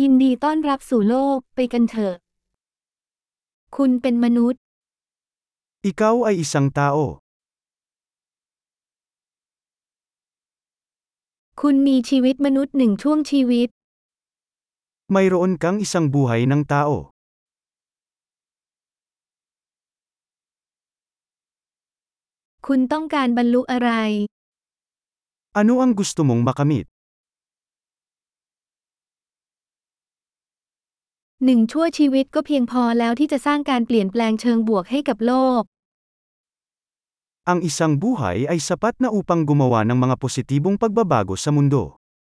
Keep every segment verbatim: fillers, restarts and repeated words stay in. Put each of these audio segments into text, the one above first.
ยินดีต้อนรับสู่โลกไปกันเถอะคุณเป็นมนุษย์ Ikaw ay isang tao. คุณมีชีวิตมนุษย์หนึ่งช่วงชีวิต Mayroon kang isang buhay ng tao. คุณต้องการบรรลุอะไร Ano ang gusto mong makamit? หนึ่งชั่วชีวิตก็เพียงพอแล้วที่จะสร้างการเปลี่ยนแปลงเชิงบวกให้กับโลก Ang isang buhay ay sapat na upang gumawa ng mga positibong pagbabago sa mundo.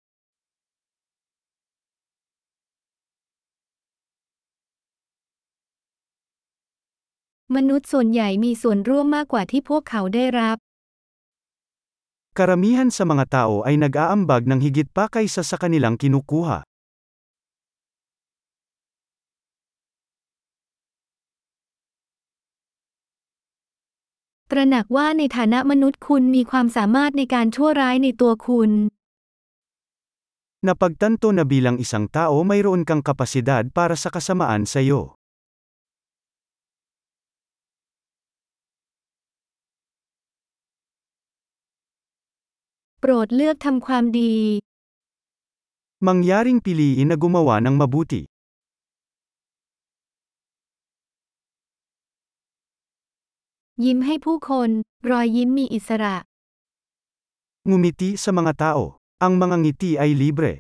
มนุษย์ส่วนใหญ่มีส่วนร่วมมากกว่าที่พวกเขาได้รับ Karamihan sa mga tao ay nag-aambag ng higit pa kaysa sa kanilang kinukuha. ตระหนักว่าในฐานะมนุษย์คุณมีความสามารถในการชั่วร้ายในตัวคุณ Napagtanto na bilang isang tao mayroon kang kapasidad para sa kasamaan sa iyo. โปรดเลือกทำความดี Mangyaring piliin na gumawa ng mabuti. ยิ้มให้ผู้คน รอยยิ้มมีอิสระ Ngumiti sa mga tao. Ang mga ngiti ay libre.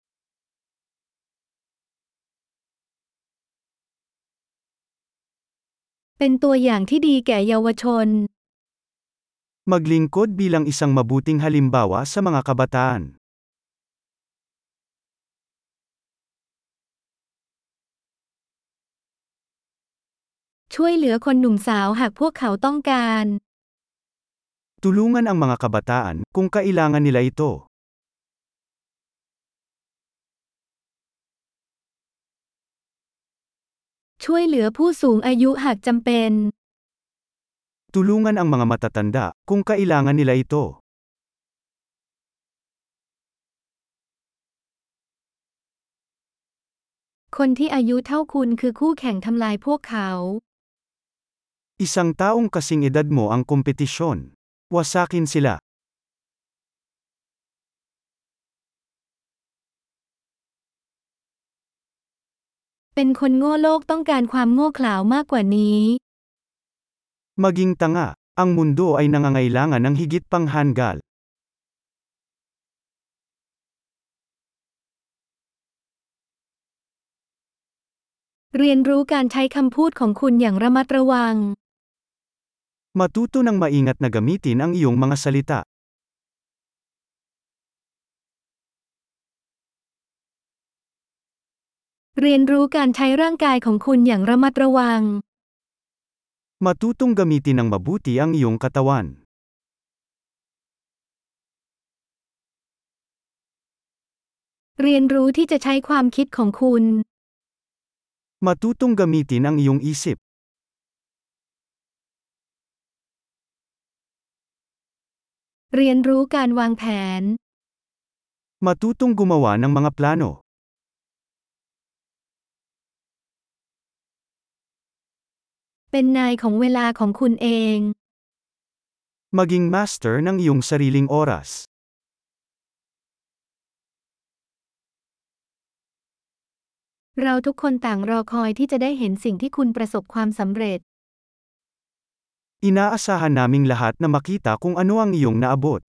เป็นตัวอย่างที่ดีแก่เยาวชน Maglingkod bilang isang mabuting halimbawa sa mga kabataan. ช่วยเหลือคนหนุ่มสาวหากพวกเขาต้องการ Tulungan ang mga kabataan kung kailangan nila ito. ช่วยเหลือผู้สูงอายุหากจำเป็น Tulungan ang mga matatanda kung kailangan nila ito. คนที่อายุเท่าคุณคือคู่แข่งทำลายพวกเขา Isang taong kasing edad mo ang kompetisyon. Wasakin sila. เป็นคนโง่โลกต้องการความโง่เขลา มากกว่านี้ Maging tanga. Ang mundo ay nangangailangan ng higit pang handgal. เรียนรู้การใช้คำพูดของคุณอย่างระมัดระวัง Matuto ng maingat na gamitin ang iyong mga salita. เรียนรู้การใช้ร่างกายของคุณอย่างระมัดระวัง Matutong gamitin ng mabuti ang iyong katawan. เรียนรู้ที่จะใช้ความคิดของคุณ Matutong gamitin ang iyong isip. เรียนรู้การวางแผน Matutong gumawa ng mga plano. เป็นนายของเวลาของคุณเอง Maging master ng iyong sariling oras. เราทุกคนต่างรอคอยที่จะได้เห็นสิ่งที่คุณประสบความสำเร็จ Inaasahan naming lahat na makita kung ano ang iyong naabot.